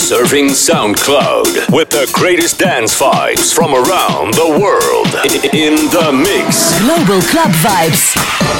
Surfing SoundCloud with the greatest dance vibes from around the world. In the mix. Global Club Vibes.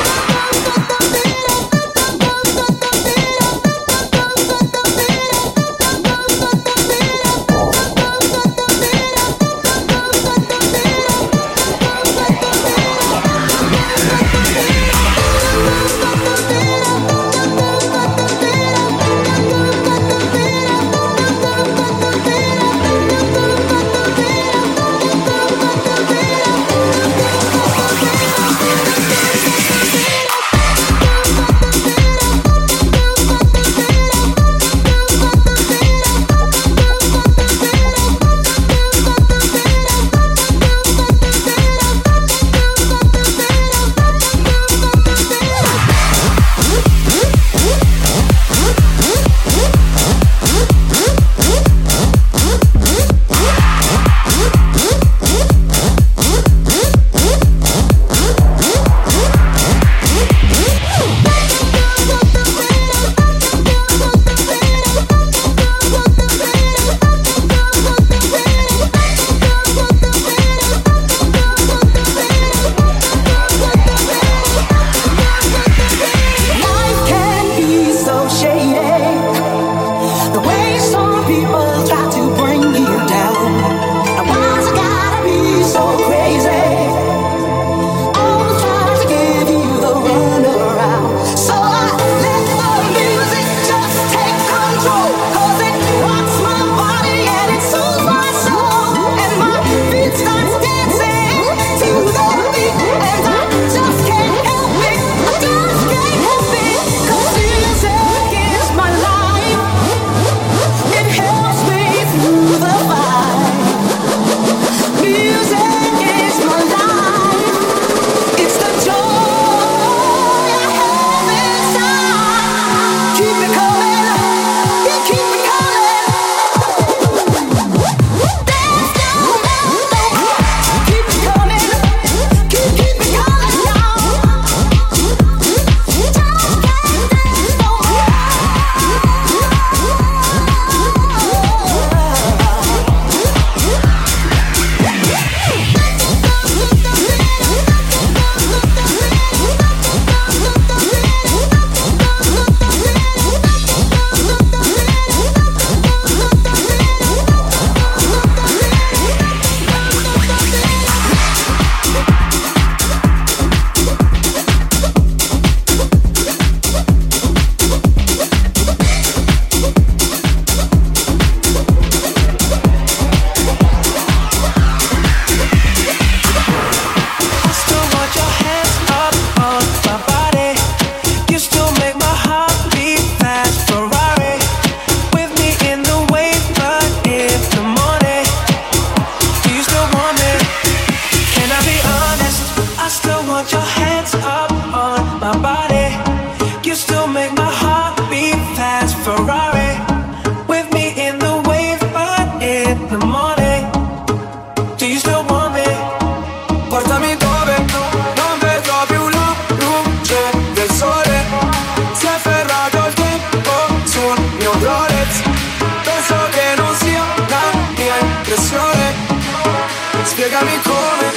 Spiegami come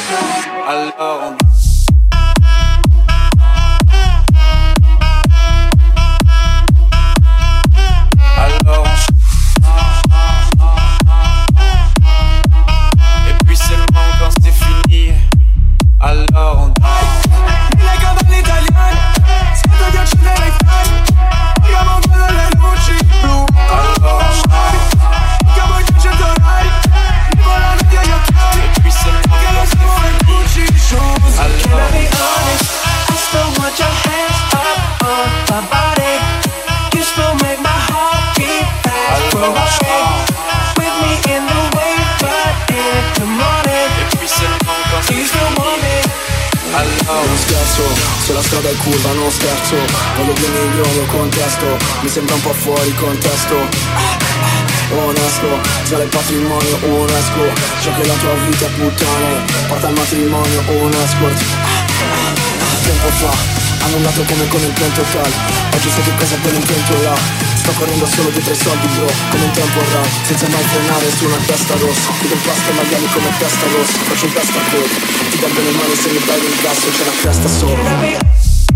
allora. Et puis seulement quand c'est fini, alors on Mille cavalli italiani, sento di accendere i fari, paghiamo quello delle luci blu. Allora chiamo i 100 orari, mi volano via gli occhiali, et puis seulement che lo quand siamo in Gucci shoes. alors Can I be honest? I still want your hands up on my body. You still make my heart beat fast. Ferrari, with me in the wave, but in the morning. et puis seulement quand Do you c'est still want me? Non scherzo, se la strada è curva non scherzo. Voglio 2 milioni nel contesto, mi sembra un po' fuori contesto. Onesto, sale il patrimonio UNESCO. So che la tua vita è puttane, porta al matrimonio un escort. Tempo fa annullato come con il plan total. Oggi so che cosa poi l'intento là. Sto correndo solo dietro i soldi bro, come un tempo rap, senza mai frenare su una testa rossa. Chiudo il plastica maiali come testa rossa. Faccio un testa a code, ti do bene male se mi dai del gas e c'è la cresta sopra.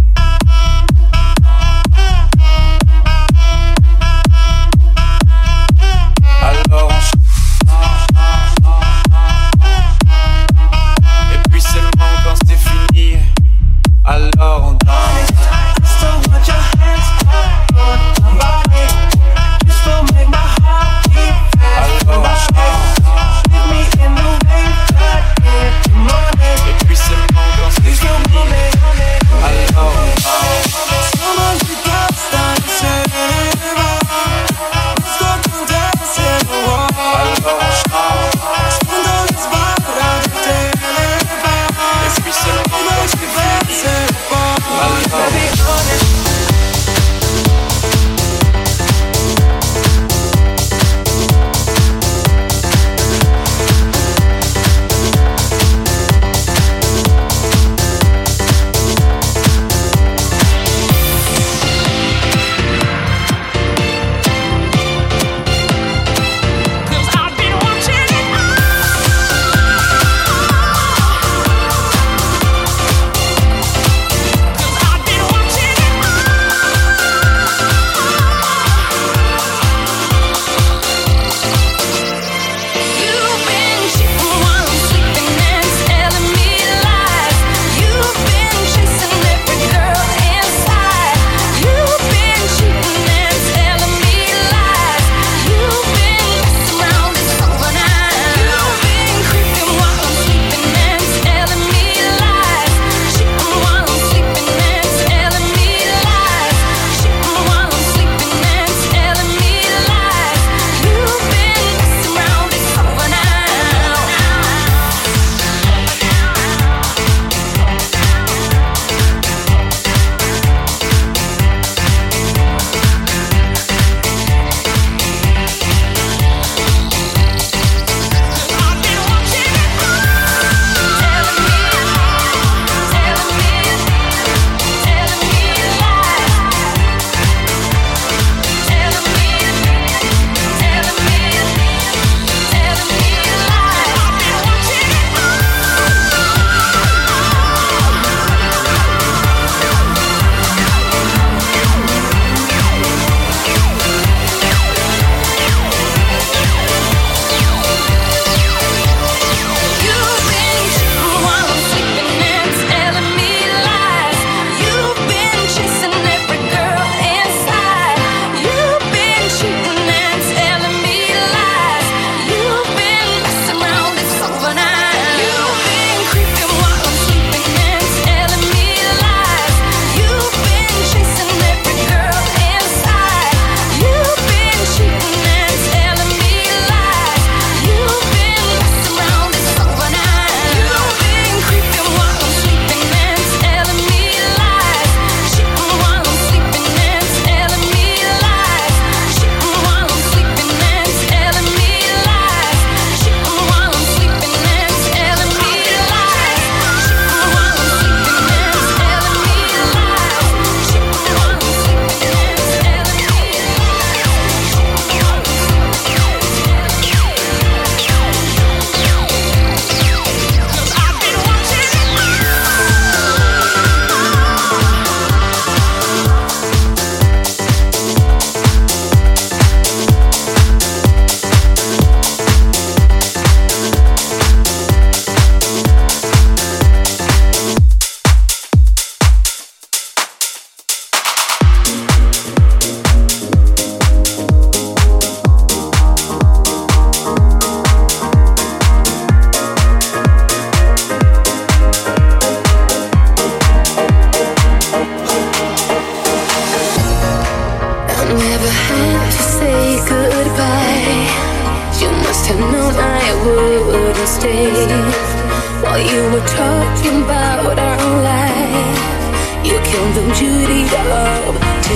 While you were talking about our life, you killed the beauty of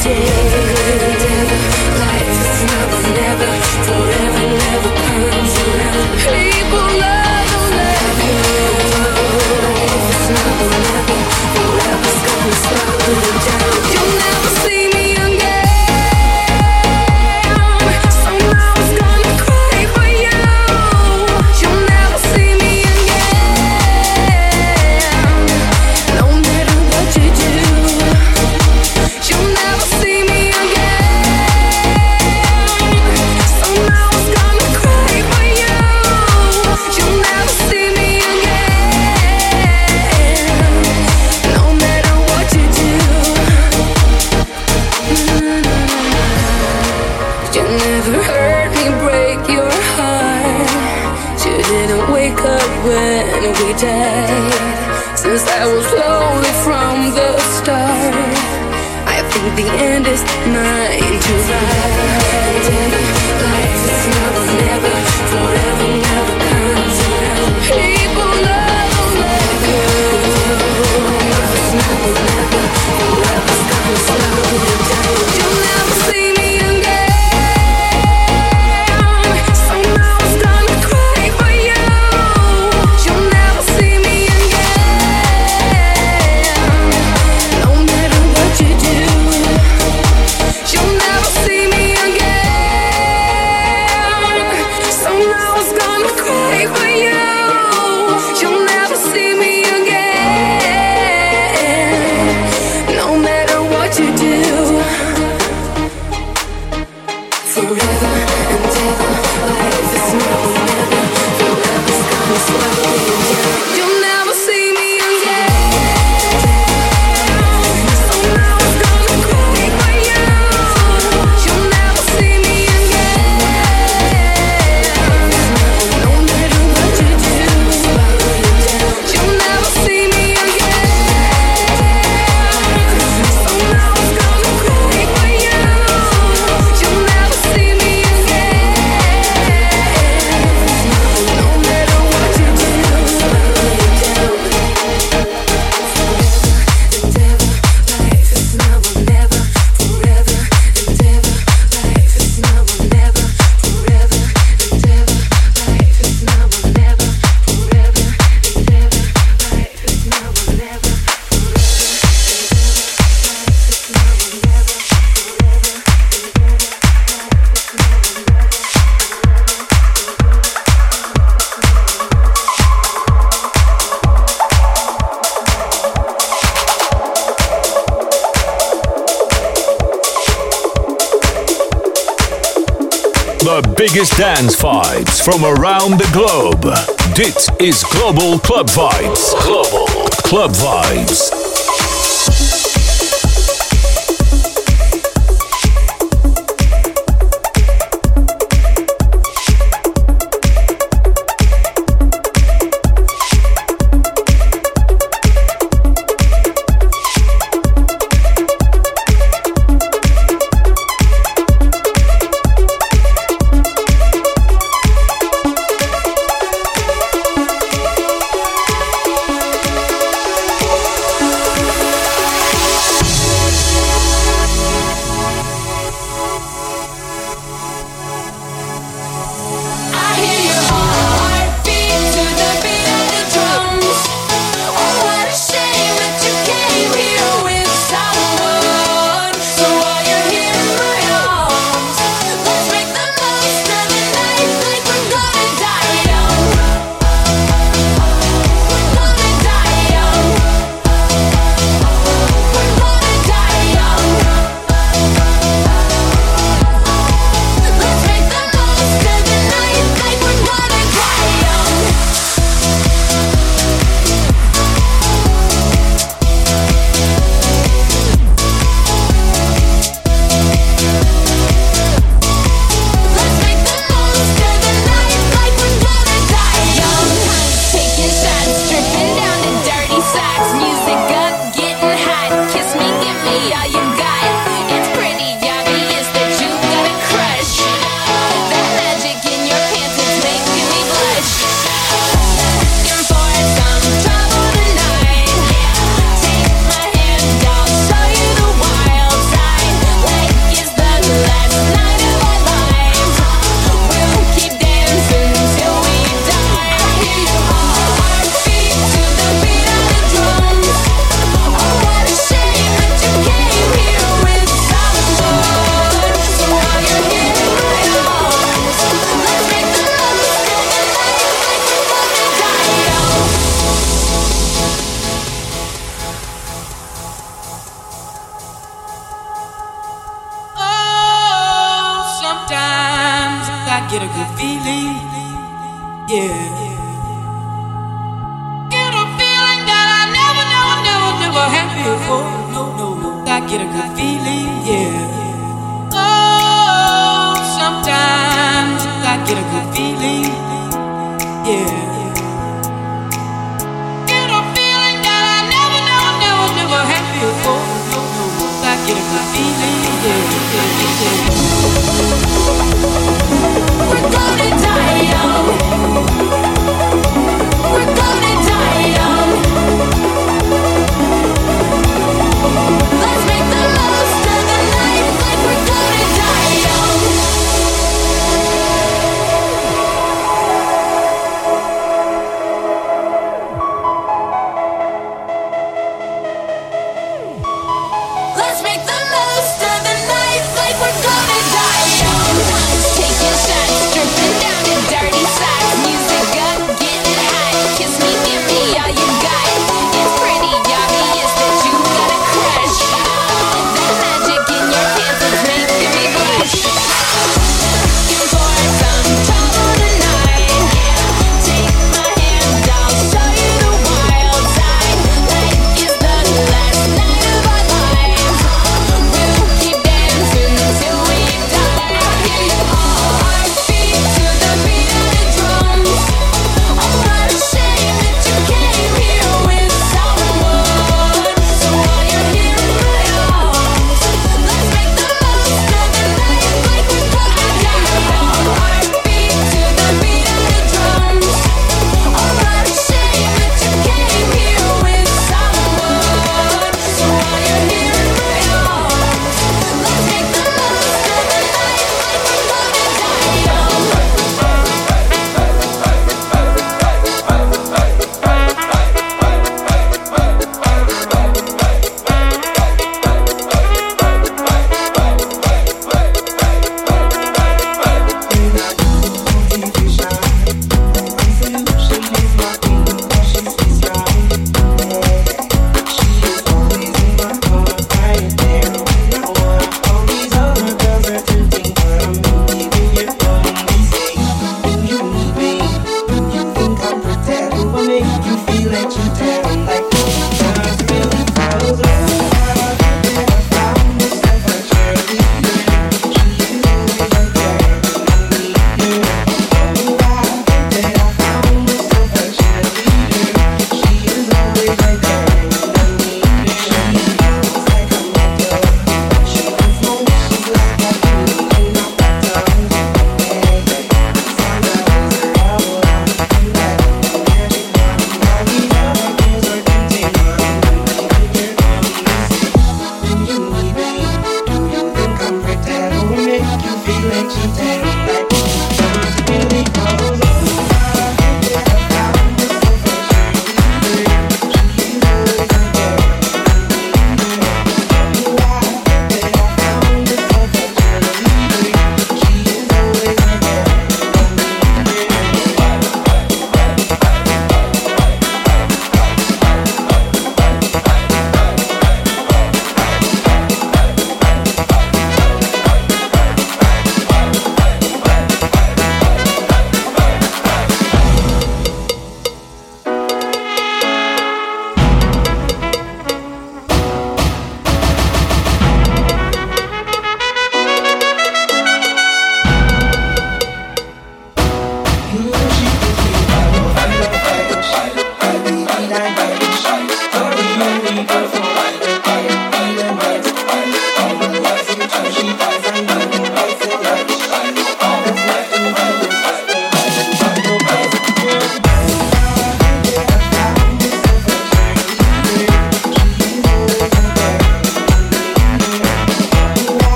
today. Life is never, never, forever, never comes around. People love you. Life is never, never, forever's gonna stop. died. Since I was lonely from the start, I think the end is mine to ride. Life is now or never, forever never comes around. People never let go. Life is now or never, forever's gonna slow you down. You'll never see me again. Somehow it's gonna cry for you. You'll never see me again. No matter what you do, you'll never see me again. Somehow it's gonna cry for you. You'll never see me again. No matter what you do. Forever and ever, life is now or never. Forever's gonna slow you down. You'll never see me again. Somehow it's gonna cry for you. You'll never see me again. No matter what you do, you'll never see me again. Somehow it's gonna cry for you. You'll never see me again. No matter what you do, life is now or never, forever and ever. Life is now or never, forever and ever. Life is now or never, forever and ever. Life is now or never, The biggest dance vibes from around the globe. Dit is Global Club Vibes. Global Club Vibes. get a good feeling, yeah. Get a feeling that I never had before. No, I get a good feeling, yeah. Oh, sometimes I get a good feeling, yeah.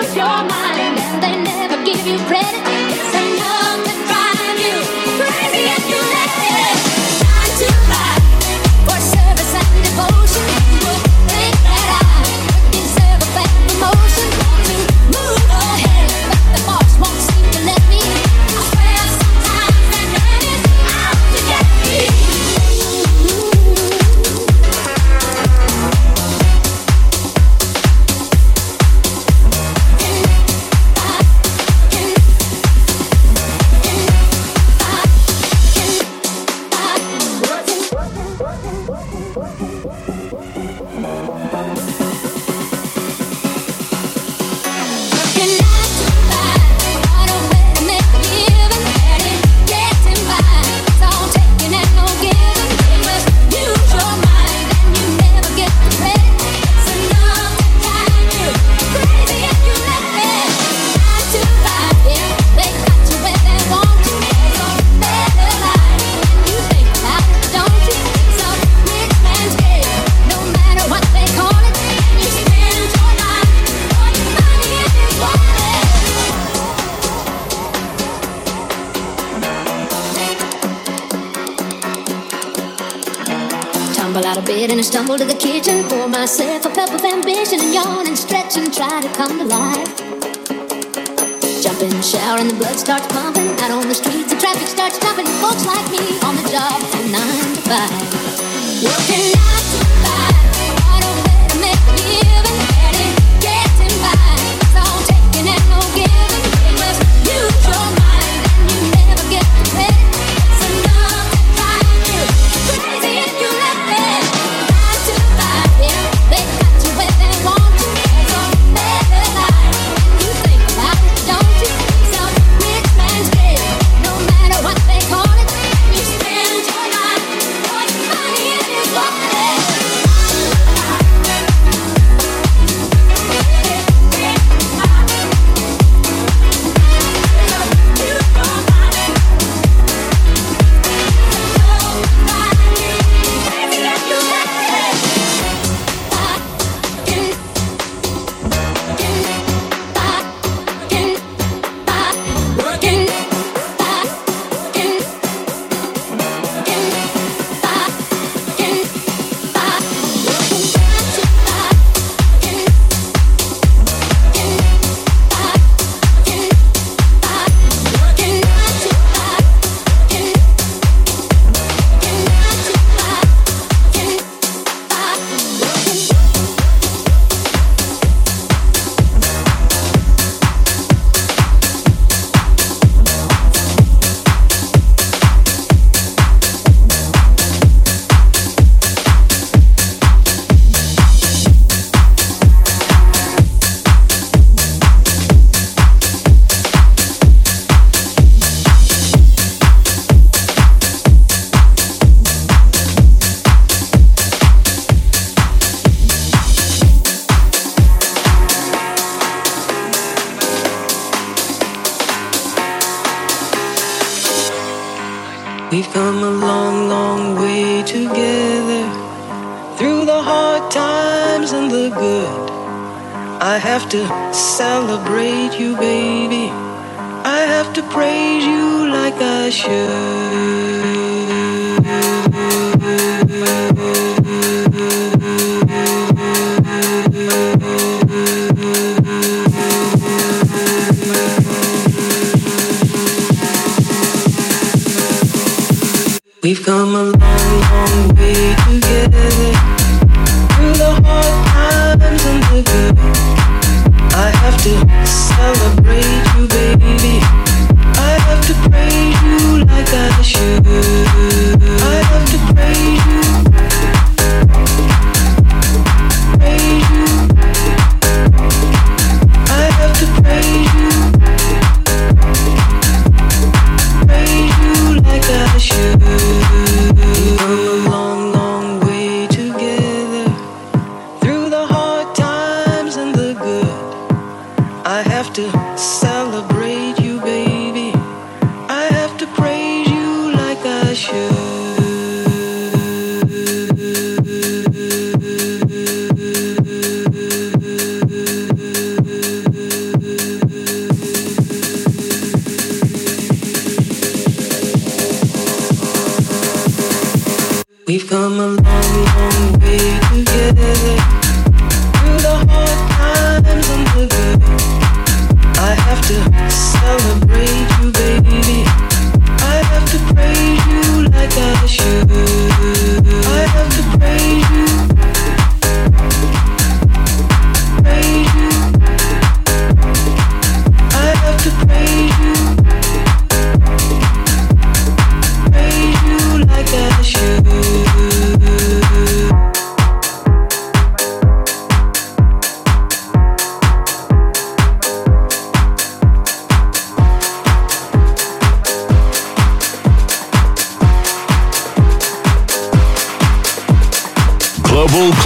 Stumble to the kitchen, pour myself a cup of ambition and yawn and stretch and try to come to life. Jump in the shower and the blood starts pumping. Out on the streets, the traffic starts jumping. Folks like me on the job from 9 to 5. Working 9 to 5, hard on way to make a living. Barely getting by, it's all taking and no giving. You must use your mind and you never get the credit. It's enough to drive you crazy if you let it. They got you where they want you. It's a better life. You think about it, don't you? Some rich man's game, no matter what they call it. You spend your life, put money in his wallet. We've come a long, long way together, through the hard times and the good. I have to celebrate you, baby. I have to praise you like I should. We've come a long, long way together, through the hard times and the good. I have to celebrate you, baby. I have to praise you like I should. I have to praise you, praise you. I have to praise you, praise you like I should. We've come a long, long way together, through the hard times and the good. I have to celebrate you, baby. I have to praise you like I should.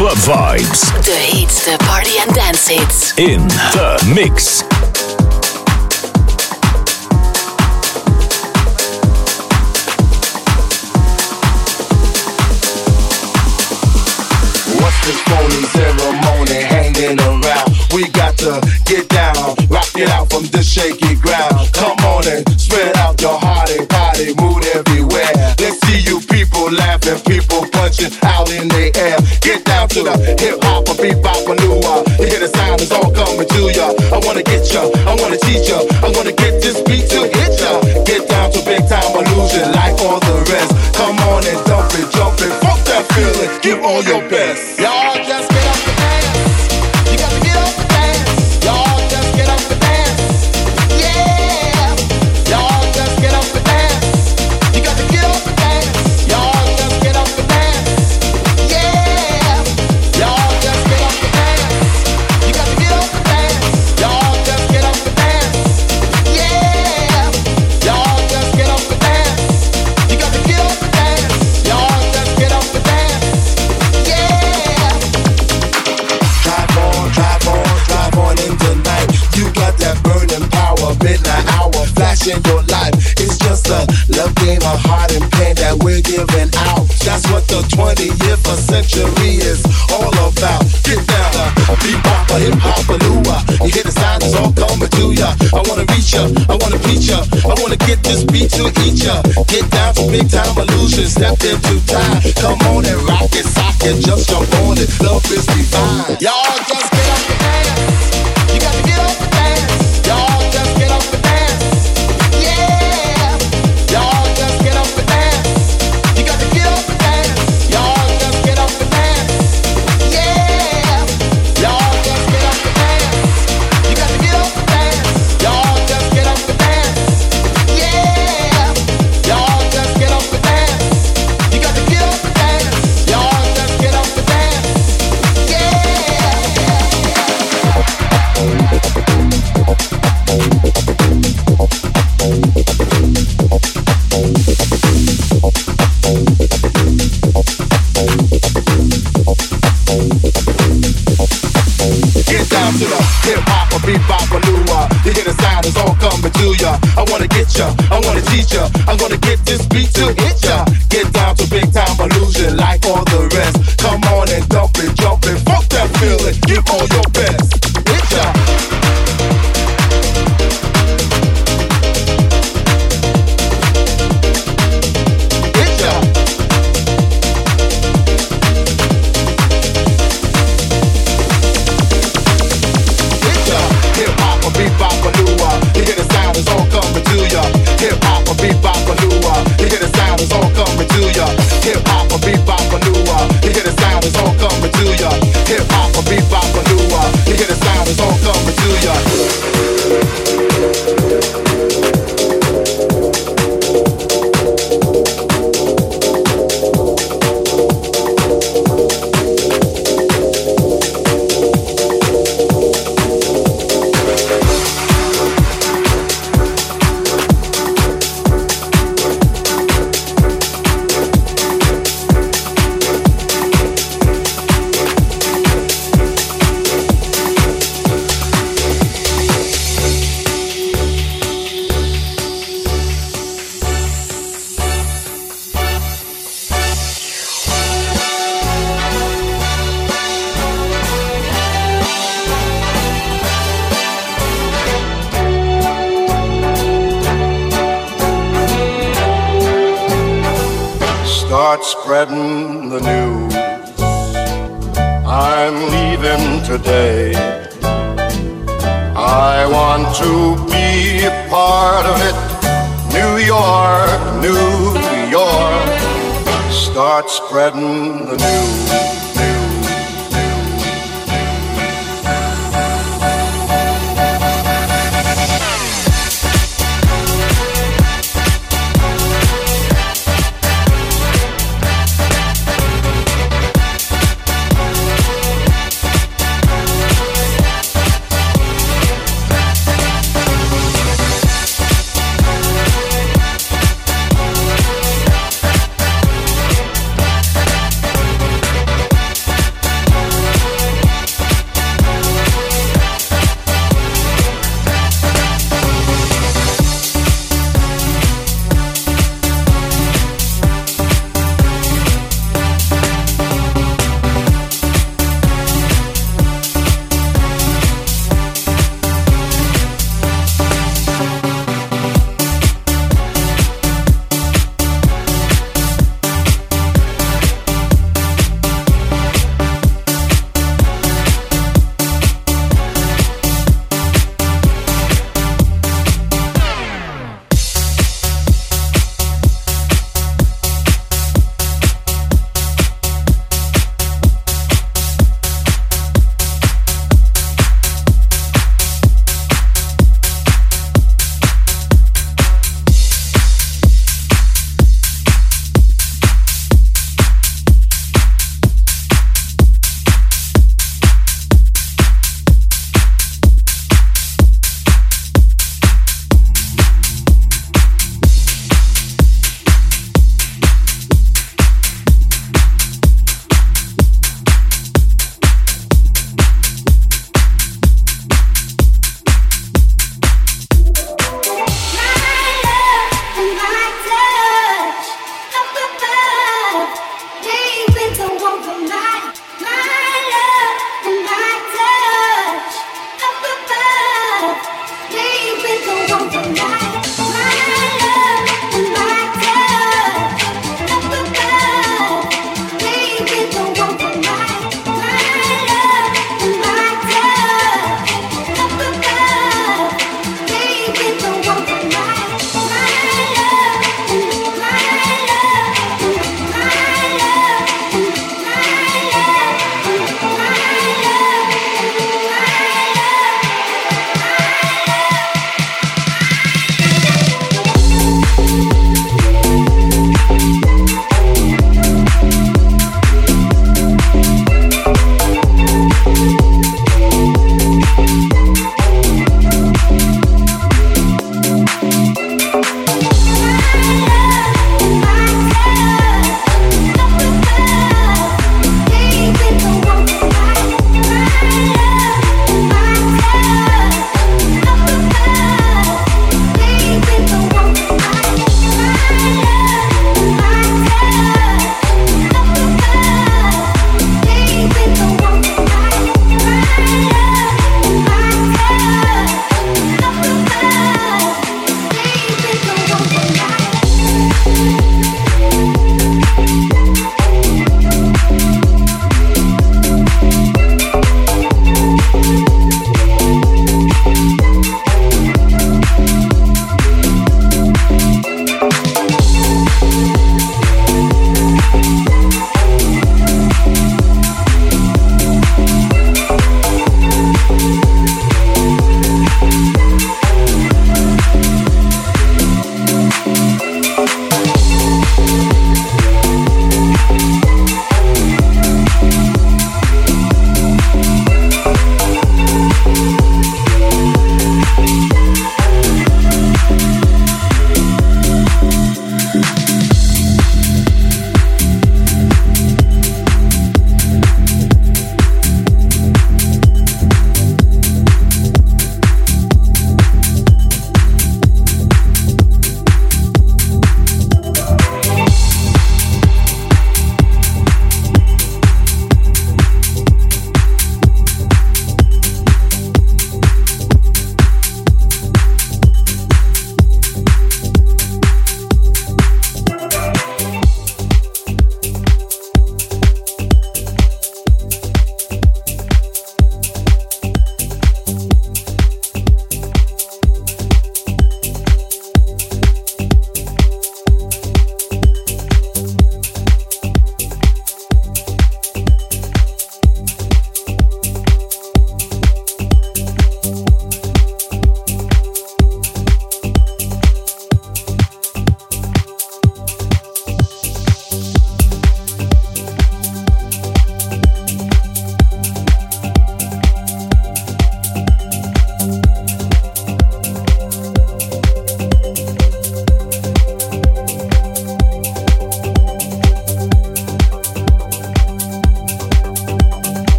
club vibes. The hits, the party and dance hits. In the mix. What's this phony ceremony hanging around? We got to get down, rock it out from this shaky ground. Come on and spread out your hearty, party mood everywhere. Let's see you people laughing, people punching out in the air. Get down to the hip hop, a bebop, a new You hear the sound, it's all coming to ya. I wanna get ya, I wanna teach ya, I wanna get this beat to hit ya. Get down to big time illusion like all the rest. Come on and dump it, jump it, fuck that feeling, give all your best. Y'all just get up and dance. You got to get up and dance. Y'all just get up and dance. Yeah. Y'all just get up and dance. You got to get up and dance. Y'all just get up and dance. Yeah. Y'all just get up and dance. You got to get up and dance. Y'all just get up and dance. Yeah. Y'all just get up and dance. You got to get up and dance. Y'all just get up and dance. Drive on into night. You got that burning power, midnight hour, flashing your life. It's just a love game of heart and pain that we're giving out. That's what the 20th century is all about. Get down, bebop, hip hop, lua. You hear the sound, it's all coming to ya. I wanna reach ya, I wanna beat ya, I wanna get this beat to eat ya. Get down to big time illusion, step into time. Come on and rock it, sock it, just jump on it. Love is divine. Y'all just get up and dance. You got to get up and dance. Y'all just get up and dance. Yeah. Y'all just get up and dance. You got to get up and dance. Y'all just get up and dance. Yeah. Y'all just get up and dance. You got to get up and dance. Y'all just get up and dance. Yeah. Y'all just get up and dance. You got to get up and dance. Y'all just get up and dance. Yeah. Get down to the hip hop, a bebop, a lua. You hear the sound, it's all coming to ya. I wanna get ya, I wanna teach ya, I'm gonna get this beat to hit ya. Get down to big time illusion like all the rest. Come on and dump it, jump it, fuck that feeling, give all your best. Hit ya. You hear the sound, it's all coming to ya. Hip hop, a bebop, a lua. You hear the sound, it's all coming to ya. Hip hop, a bebop, a lua. You hear the sound, it's all coming to ya. Hip hop, a bebop, a lua. You hear the sound, it's all coming to ya. Start spreading the news. I'm leaving today. I want to be a part of it. New York, New York. Start spreading the news.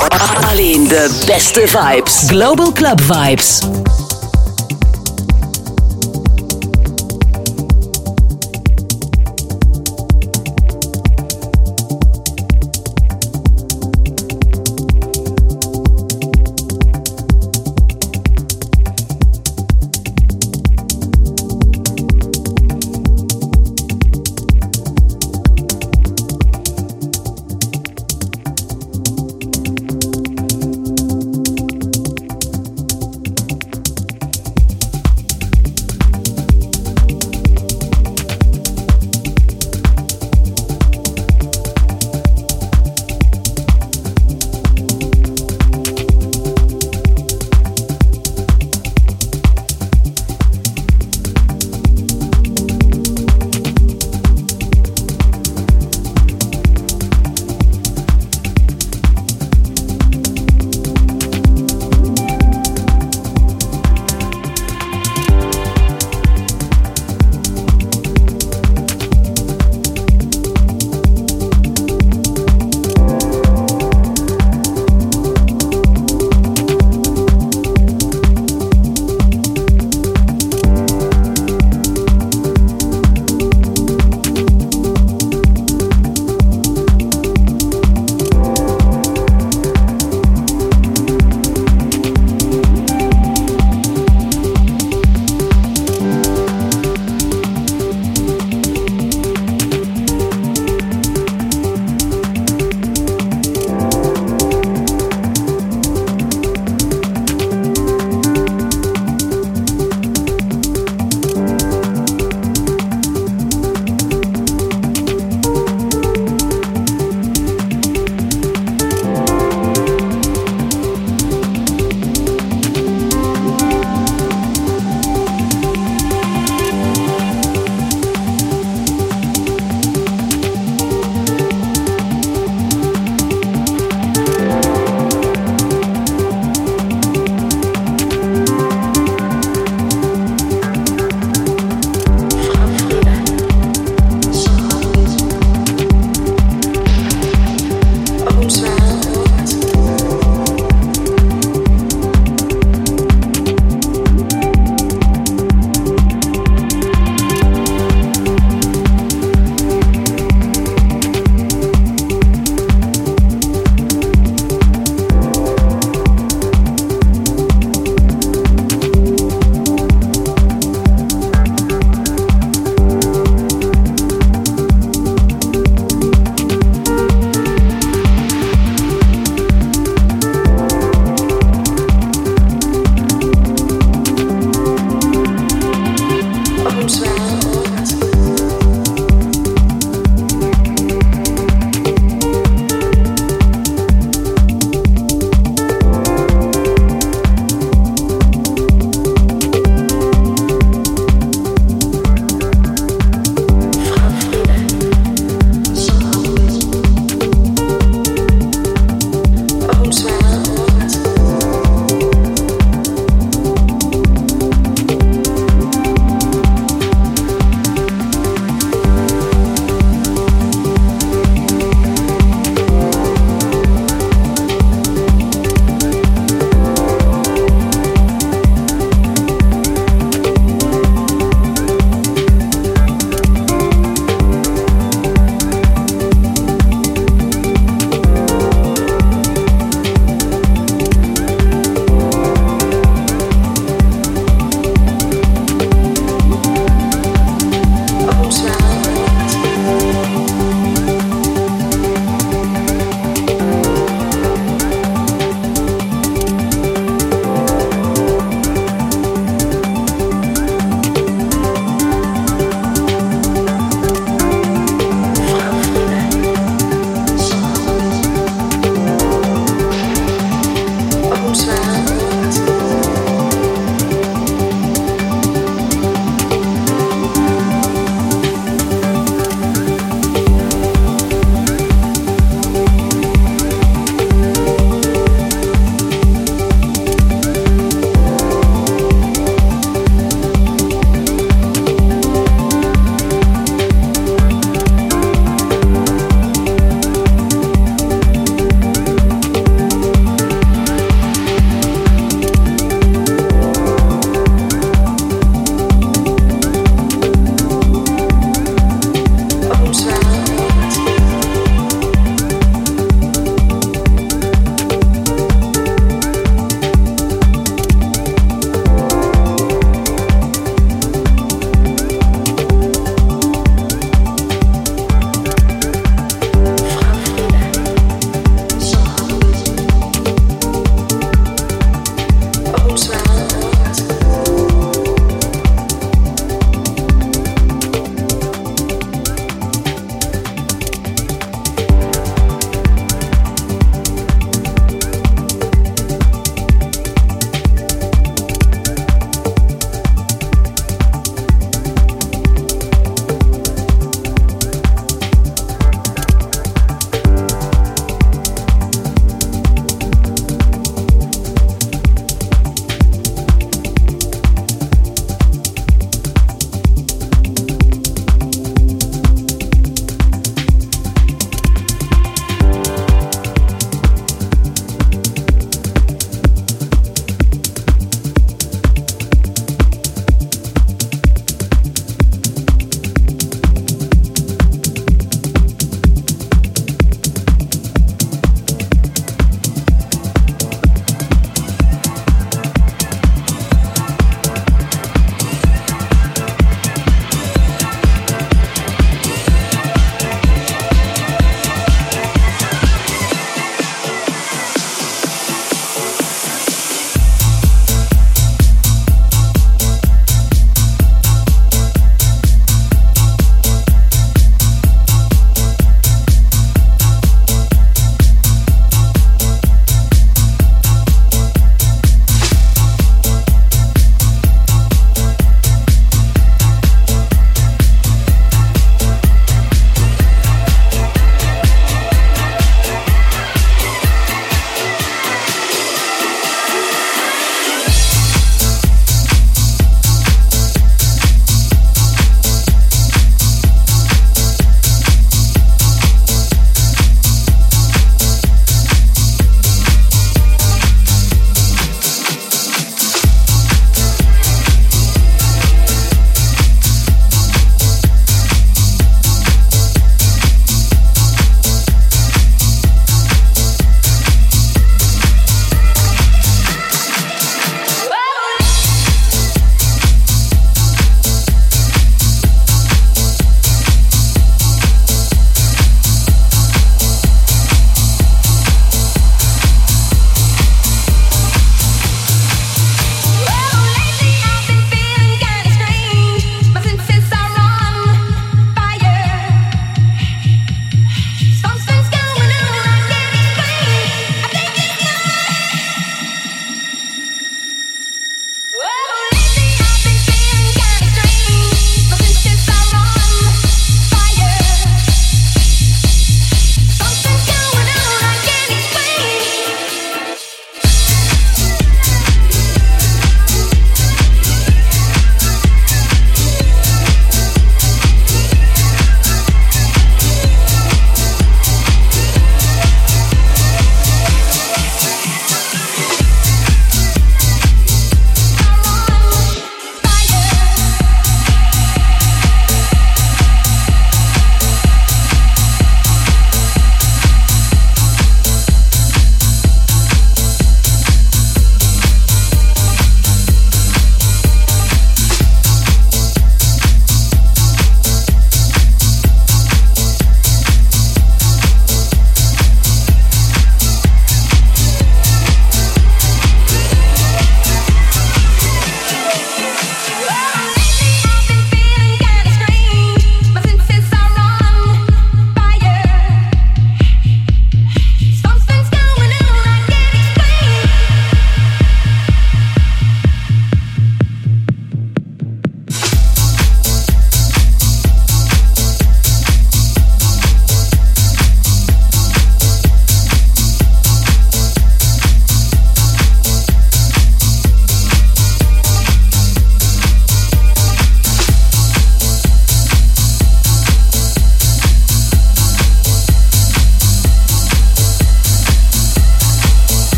Alleen de beste vibes. Global Club Vibes.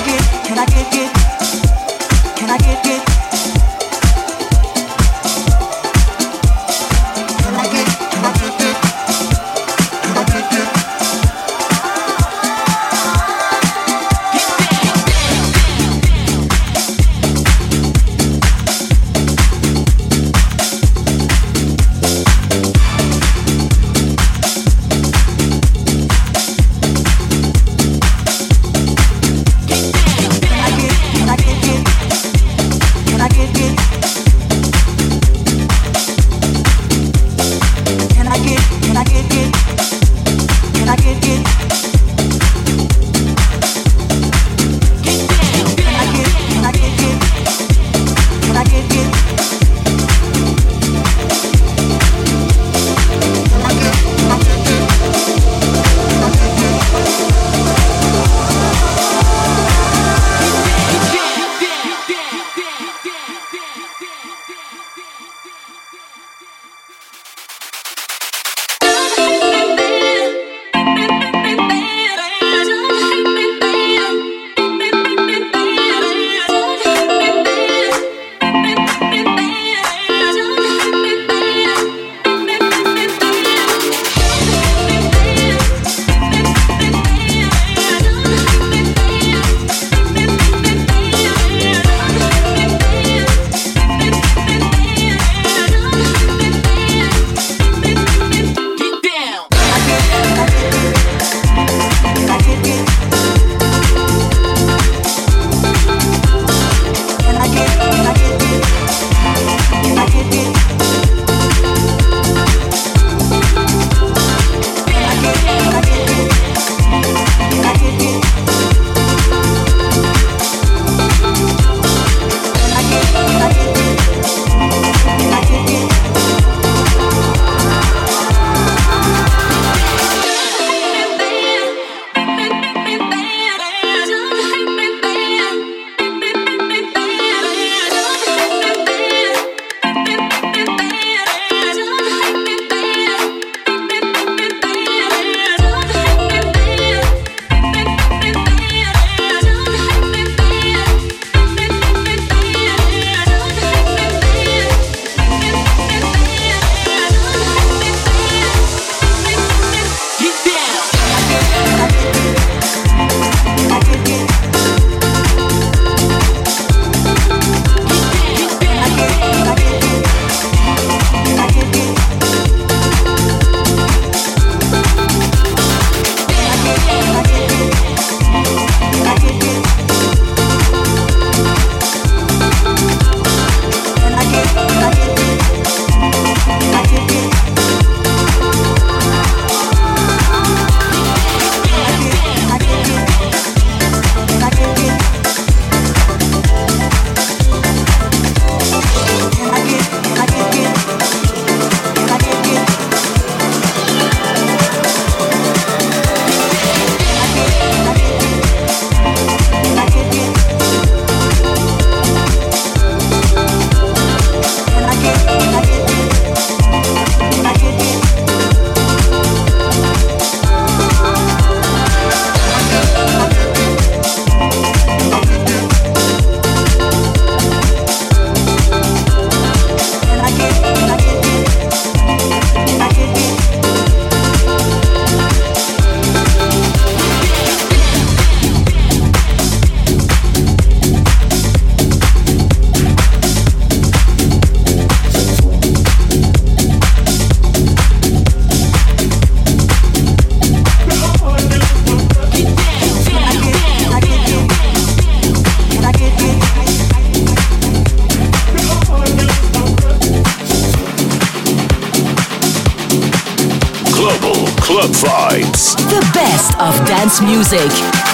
Club Vibes. The best of dance music.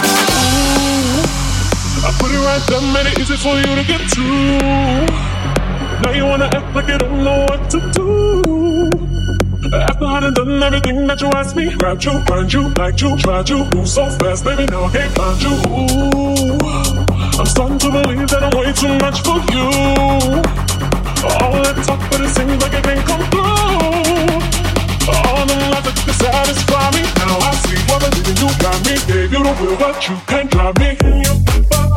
I put it right there, made it easy for you to get to. Now you wanna act like you don't know what to do. After I done done everything that you asked me, grabbed you, find you, liked you, tried you, move so fast, baby, now I can't find you. Ooh, I'm starting to believe that I'm way too much for you. All that talk, but it seems like it can't come through. All the logic to satisfy me. Now I see what I did, you got me. Gave you the will, but you can't drive me in your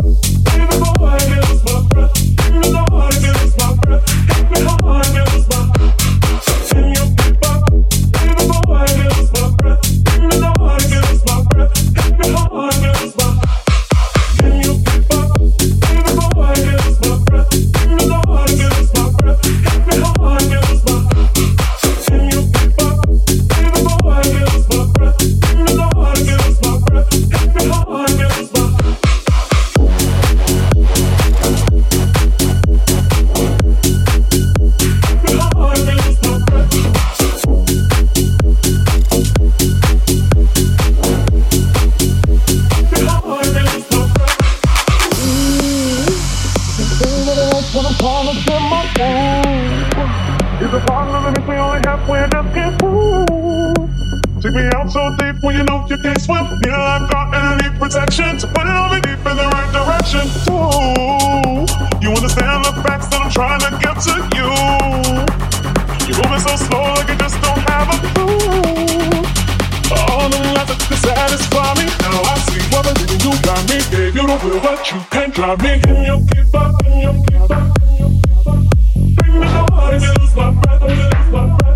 wanna get my food. Is a partner that makes me only halfway just can't prove. Take me out so deep when you know you can't swim. Need a lifeguard and need protection to put it on me deep in the right direction. Ooh, you understand the facts that I'm trying to get to you. You're moving so slow like you just don't have a clue. All the lies that could satisfy me. Now I see what the reason you got me. Gave you the will, but you can't drive me. In your keeper, in your keeper. Bring me the heart, lose my breath, lose my breath.